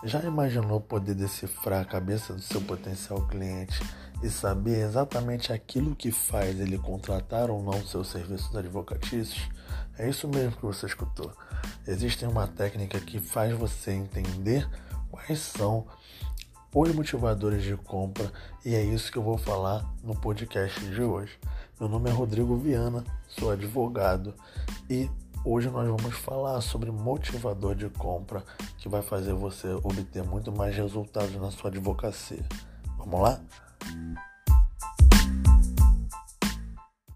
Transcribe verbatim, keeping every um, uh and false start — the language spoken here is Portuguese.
Já imaginou poder decifrar a cabeça do seu potencial cliente e saber exatamente aquilo que faz ele contratar ou não seus serviços advocatícios? É isso mesmo que você escutou. Existe uma técnica que faz você entender quais são os motivadores de compra e é isso que eu vou falar no podcast de hoje. Meu nome é Rodrigo Viana, sou advogado e hoje nós vamos falar sobre motivador de compra que vai fazer você obter muito mais resultados na sua advocacia. Vamos lá?